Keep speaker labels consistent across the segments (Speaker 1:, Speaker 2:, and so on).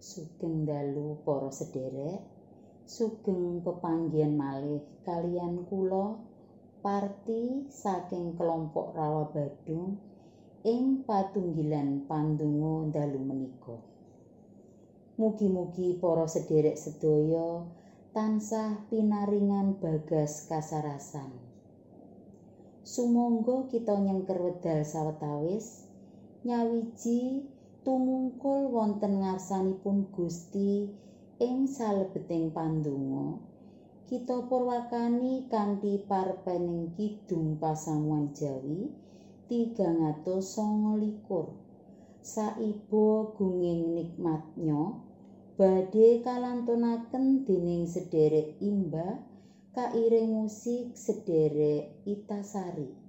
Speaker 1: Sugeng dalu para sederek, sugeng pepanggihan malih kaliyan kula Parti saking kelompok Rawa Badung ing patunggilan pandonga dalu menika. Mugi-mugi para sederek sedaya tansah pinaringan bagas kasarasan. Sumangga kita nyengker wedal sawetawis nyawiji tumungkul wonten ngarsanipun Gusti ing salebeting pandonga kita purwakani kanthi parpening kidung pasamuan Jawi 329 saiba gunging nikmatnya badhe kalantunaken dening sederek Imba kairing musik sederek Itasari.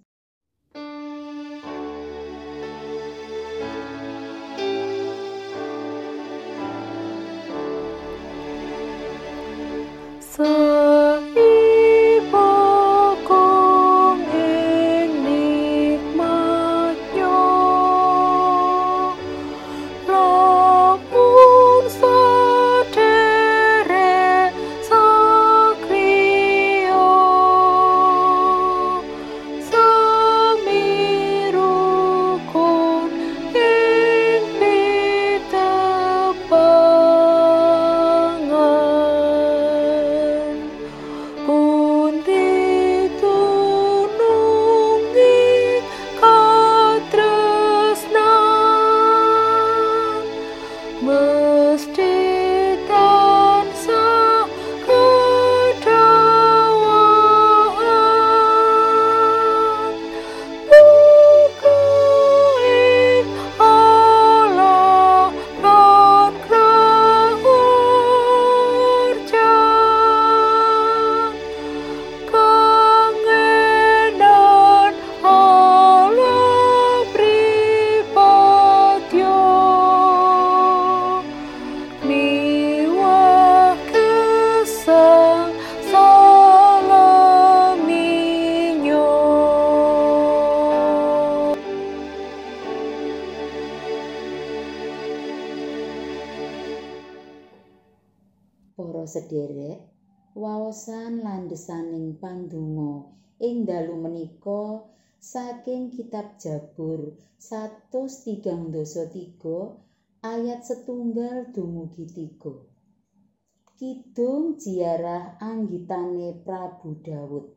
Speaker 1: Para sederek, waosan landhesaning pandonga ing dalu menika saking kitab Jabur 133 ayat 1 dumugi 3. Kidung ziarah anggitane Prabu Daud.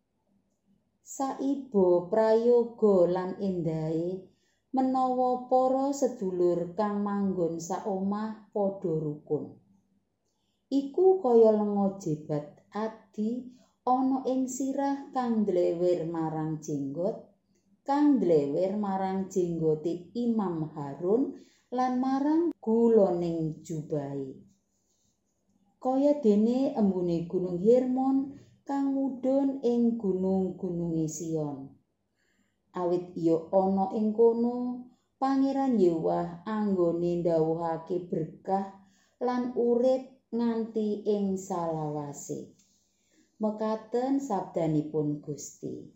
Speaker 1: Saiba prayoga lan endahe menawa para sedulur kang manggon saomah padha rukun. Iku kaya lenga jebat adi ana ing sirah kang ndlewer marang jenggote Imam Harun lan marang guloning jubahe. Kaya dene embune Gunung Hermon kang mudhun ing gunung-gununge Sion. Awit ya ana ing kono Pangeran Yewah anggone ndhawuhake berkah lan urip nganti ing salawase. Mekaten sabdanipun Gusti.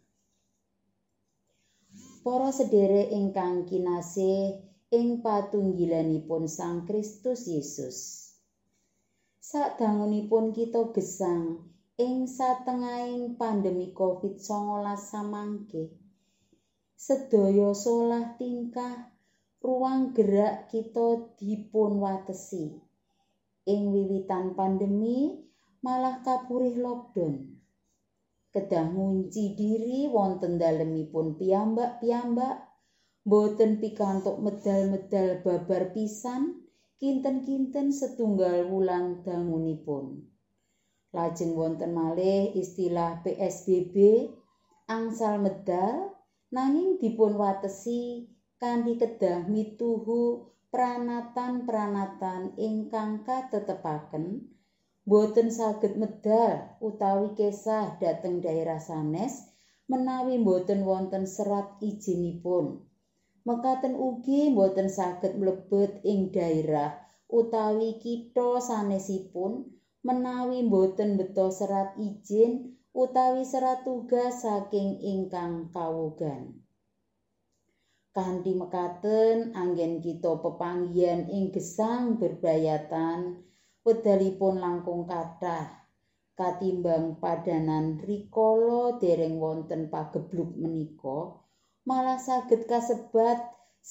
Speaker 1: Para sederek ingkang kinasih ing patunggilanipun Sang Kristus Yesus. Sadangunipun kita gesang ing satengahing pandemi COVID-19 samangke, sedaya solah tingkah ruang gerak kita dipun watesi. Ing wiwitan pandemi malah kapurih lockdown. Kedah ngunci diri wonten dalemipun piyambak-piyambak, boten pikantuk medal-medal babar pisan, kinten-kinten setunggal wulan dangunipun. Lajeng wonten malih istilah PSBB angsal medal nanging dipun watesi kanthi kedah mituhu pranatan-pranatan ingkang katetepaken boten saged medal utawi kesah dhateng daerah sanes menawi boten wonten serat ijinipun. Mekaten ugi boten saged mlebet ing daerah utawi kitha sanesipun menawi boten beta serat izin utawi serat tugas saking ingkang kawogan. Kanthi mekaten anggen kita pepanggihan ing gesang berbayatan wedalipun langkung kathah katimbang padanan rikala dereng wonten pageblug menika malah saged kasebat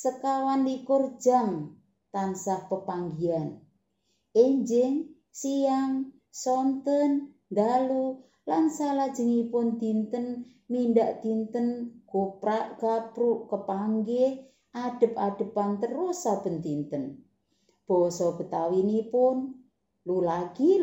Speaker 1: 21 jam tansah pepanggihan enjing siang sonten dalu lan salajengipun dinten mindak dinten goprak gapruk kepanggih adep-adepan terus saben dinten. Basa Betawinipun lulagi.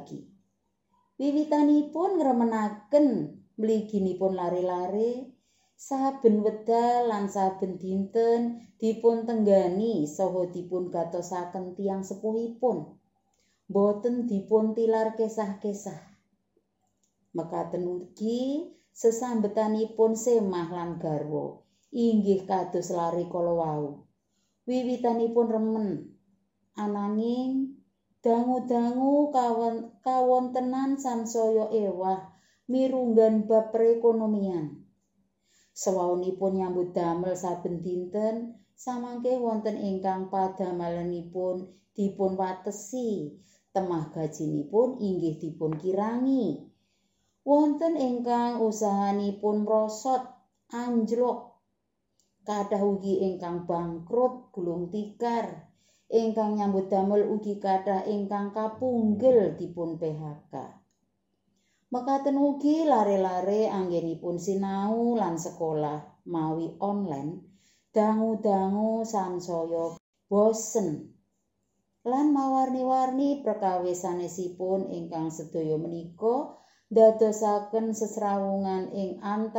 Speaker 1: Wiwitanipun ngremenaken mliginipun lare-lare saben wedal lan saben dinten dipun tenggani saha dipun gatosaken tiyang sepuhipun. Boten dipun tilar kesah-kesah. Mekaten ugi sesambetanipun semah lan garwa inggih kados lare kala wau. Wiwitanipun remen ananging dangu-dangu kawontenan sansaya ewah mirunggan bab perekonomian. Sawaunipun nyambut damel saben dinten samangke wonten ingkang padamelanipun dipun watesi, temah gajinipun inggih dipun kirangi. Wonten ingkang usahanipun mrosot anjlok, kathah ugi ingkang bangkrut gulung tikar, ingkang nyambut damel ugi kathah ingkang kapunggel dipun PHK. Mekaten ugi lare-lare anggenipun sinau lan sekolah mawi online, dangu-dangu sansaya bosen lan mawarni-warni perkawis sanesipun ingkang sedaya menika dadosaken sesrawungan ing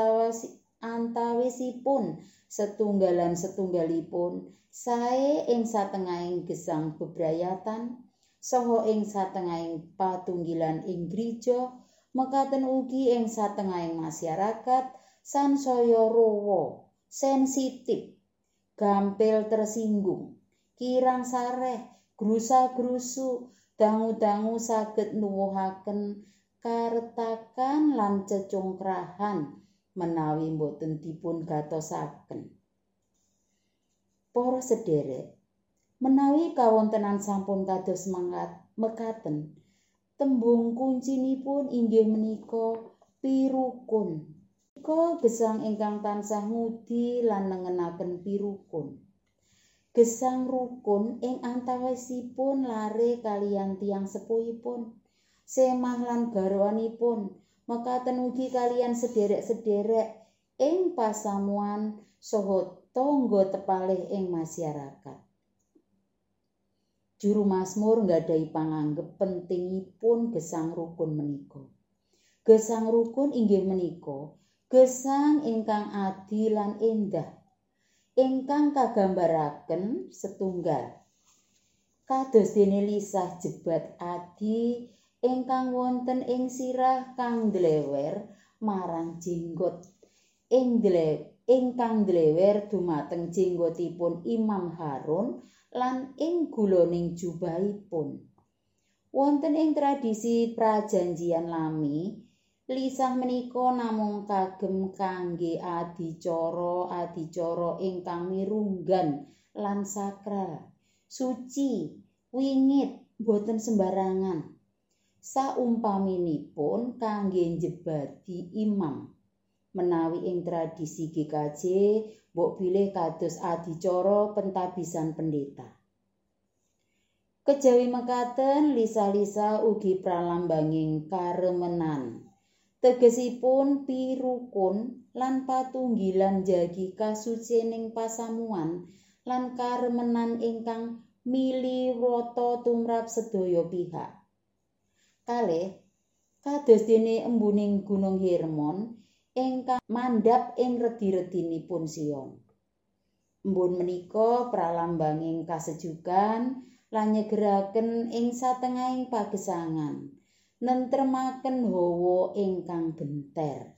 Speaker 1: antawisipun setunggalipun sae ing satengahing gesang bebrayatan saha ing satengahing patunggilan ing gereja mekaten ugi ing satengahing masyarakat sansaya rowo sensitif gampil tersinggung kirang sareh grusa-grusu dangu-dangu saged nuwuhaken karetakan lan cecungkrahan menawi boten dipun gatosaken. Para sedherek, menawi kawontenan sampun kados mekaten, tembung kuncinipun inggih menika pirukun. Menika gesang ingkang tansah ngudi lan nengenaken pirukun. Gesang rukun ing antawisipun lare kaliyan tiyang sepuhipun. Semah lan garwanipun mekaten ugi kaliyan sederek-sederek ing pasamuan saha tangga tepalih ing masyarakat. Juru Mazmur nggadahi panganggep pentingipun gesang rukun menika. Gesang rukun inggih menika gesang ingkang adil lan endah ingkang kagambaraken setunggal kados dene lisah jebat adi ingkang wonten ing sirah kang dlewer marang jenggot ingkang dlewer dumateng jenggotipun Imam Harun lan ing guloning jubahipun. Wonten ing tradisi prajanjian lami, lisah menika namung kagem kangge adicara ingkang mirunggan lan sakral, suci, wingit, boten sembarangan. Saumpaminipun kangge njebadi imam. Menawi ing tradisi GKJ mbok bilih kados adicara pentabisan pendeta. Kejawi mekaten lisa-lisa ugi pralambanging karemenan. Tegesipun pirukun lan patunggilan jagi kasucining pasamuan lan karemenan ingkang miliwrata tumrap sedaya pihak. Kalih kados dene embuning Gunung Hermon ingkang mandhap ing redi-redinipun Sion. Embun menika pralambanging kasejukan lan nyegeraken ing satengahing pagesangan, nentremaken hawa ingkang benter.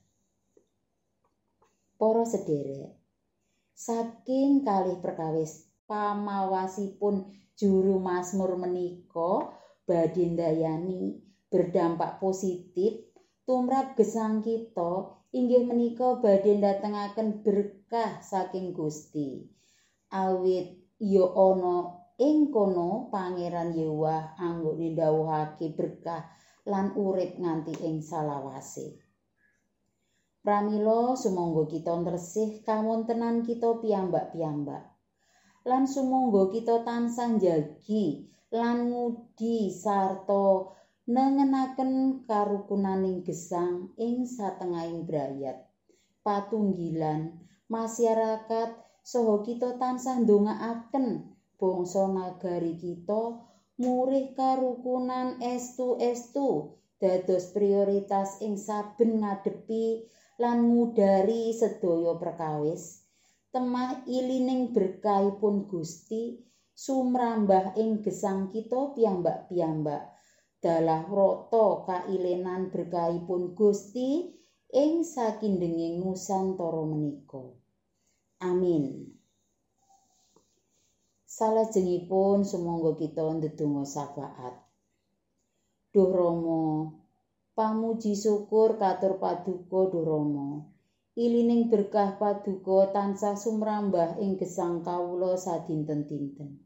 Speaker 1: Para sedherek, saking kalih perkawis pamawasipun juru Mazmur menika badhe ndayani berdampak positif tumrap gesang kita inggih menika badhe ndatengaken berkah saking Gusti. Awit ya ana ing kono Pangeran Yewah anggone ndhawuhake berkah lan urip nganti ing salawase. Pramila sumangga kita tresih kawontenan kita piyambak-piyambak. Lan sumangga kita tansah njagi lan ngudi sarta nengenaken karukunaning gesang ing satengahing brayat, patunggilan, masyarakat saha kita tansah ndongaaken bangsa nagari kita murih karukunan estu-estu dados prioritas ing saben ngadepi lan ngudari sedaya perkawis. Temah ilining berkahipun Gusti sumrambah ing gesang kita piyambak-piyambak. Dalah rata kailenan berkahipun Gusti ing sakindenging Nusantara menika. Amin. Salajengipun sumangga kita ndedonga syafaat. Duh Rama, pamuji syukur katur paduka Duh Rama. Ilining berkah paduka tansah sumrambah ing gesang kawula sadinten-dinten.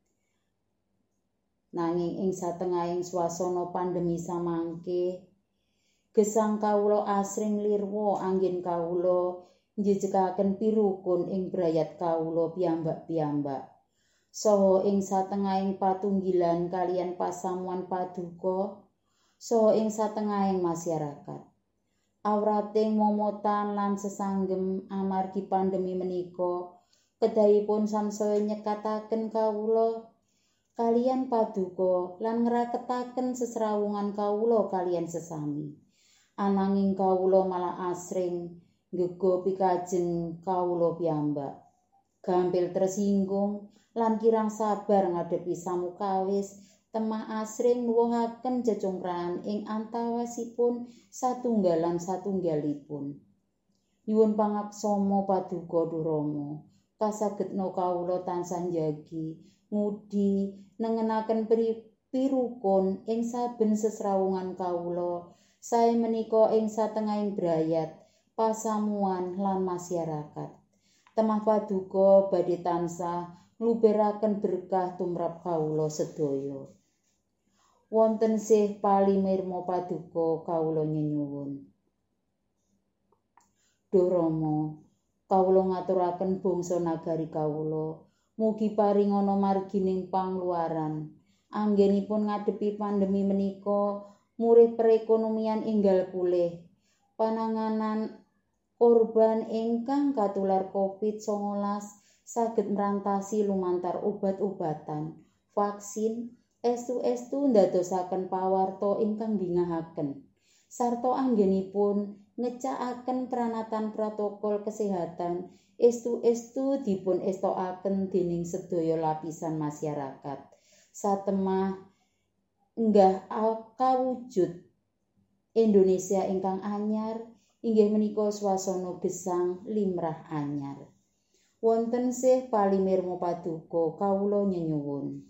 Speaker 1: Nanging ing satengahing swasana pandemi samangke, gesang kawula asring lirwa anggen kawula njejekaken pirukun ing brayat kawula piyambak-piyambak. Saha ing satengahing patunggilan kaliyan pasamuan paduka, saha ing satengahing masyarakat. Awrating momotan lan sesanggem amargi pandemi menika kedahipun sansaya nyekataken kawula kaliyan paduka lan ngraketaken sesrawungan kawula kaliyan sesami. Ananging kawula malah asring nggega pikajeng kawula piyambak. Gampil tersinggung lan kirang sabar ngadepi samukawis temah asring nuwuhaken cecongkrahan ing antawasipun satunggalipun. Nyuwun pangaksama paduka Duh Rama, kasagedna kawula tansah njagi, ngudi, nengenaken pirukun ing saben sesrawungan kawula, sae menika ing satengahing brayat, pasamuan lan masyarakat. Temah paduka badhe tansah ngluberaken berkah tumrap kawula sedaya. Wonten sih palimirma paduka kawula nyuwun. Duh Rama, kawula ngaturaken bangsa nagari kawula, mugi paringana margining pangluaran. Anggenipun ngadepi pandemi menika, murih perekonomian enggal pulih. Pananganan korban ingkang katular COVID-19 saged merantasi lumantar obat-obatan, vaksin, estu-estu ndadosaken pawarta ingkang bingahaken sarta anggenipun ngecakaken pranatan protokol kesehatan estu-estu dipun estokaken dening sedaya lapisan masyarakat satemah enggah kawujud Indonesia ingkang anyar inggih menika swasana gesang limrah anyar. Wonten sih palimirma paduka kawula nyuwun.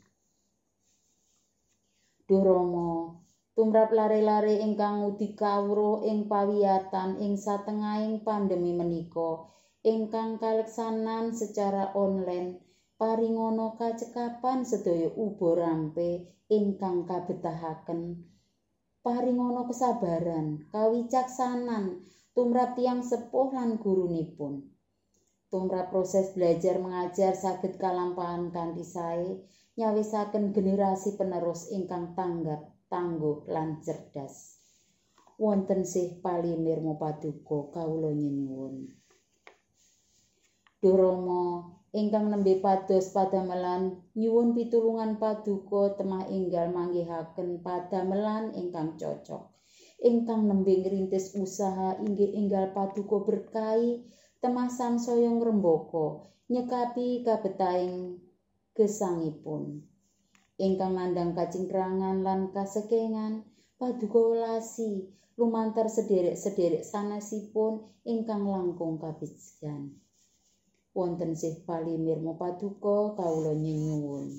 Speaker 1: Duh Rama, tumrap lare-lare ingkang ngudi kawruh ing pawiyatan ing satengahing pandemi menika, ingkang kaleksanan secara online, paringana kacekapan sedaya uba rampe ingkang kabetahaken. Paringana kesabaran, kawicaksanan tumrap tiyang sepuh lan gurunipun. Tumrap proses belajar mengajar saged kalampahan kanthi sae. Nyawisaken generasi penerus ingkang tanggap, tangguh lan cerdas. Wonten sih palimirma paduka kawula nyuwun. Duh Rama, ingkang nembe pados padamelan nyuwun pitulungan paduka temah enggal manggihaken padamelan ingkang cocok. Ingkang nembe ngrintis usaha inggih enggal paduka berkahi temah sansaya ngrembaka nyekapi kabetahing gesangipun. Ingkang nandhang kacingkrangan lan kasekengan paduka welasi lumantar sederek-sederek sanesipun ingkang langkung kabejan. Wonten sih palimirma paduka kawula nyuwun.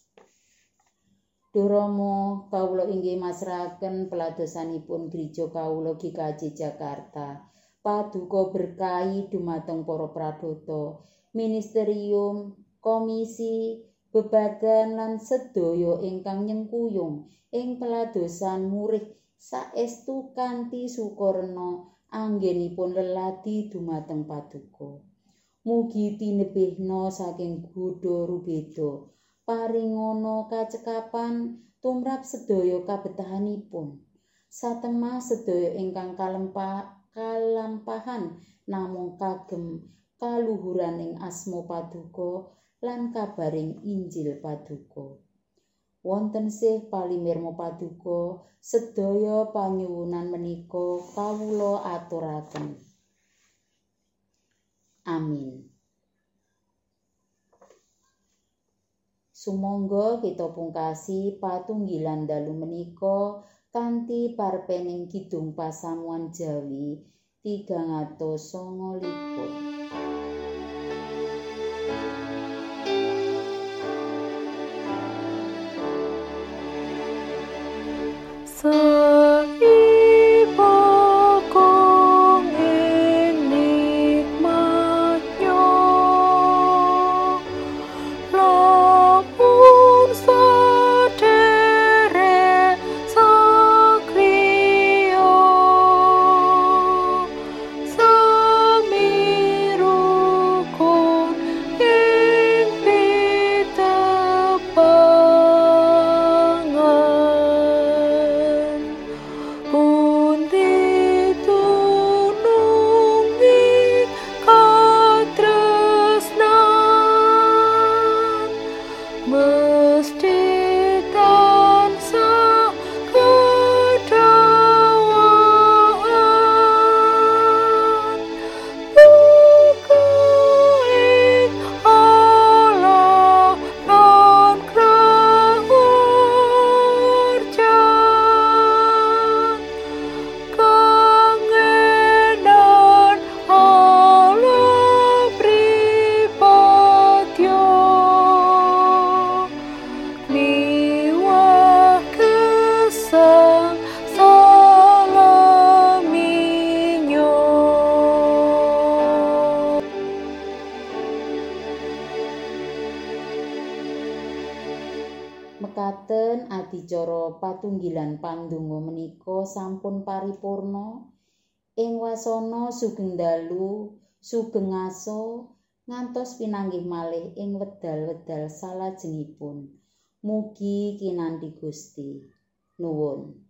Speaker 1: Duh Rama, kawula inggih masrahaken peladosanipun Gereja Kawula GKJ Jakarta. paduka berkahi dumateng para pradata, ministerium, komisi, bebadan lan sedaya ingkang nyengkuyung ing peladosan murih saestu kanthi sukarna anggenipun leladi dumateng paduka. Mugi tinebihna saking Buddha rubeda paringana kacekapan tumrap sedaya kabetahanipun. Satemah sedaya ingkang kalampahan namung kagem kaluhuraning asma paduka lan kabaring Injil paduka. Wonten sih palimirma paduka, sedaya panyuwunan menika kawula aturaken. Amin. Sumangga kita pungkasi patunggilan dalu menika kanthi parpening kidung pasamuan Jawi 309. Mekaten adicara patunggilan pandonga menika sampun paripurna ing wasana sugeng dalu, sugeng aso, ngantos pinanggih malih ing wedal-wedal salajengipun. Mugi kinanthi Gusti. Nuwun.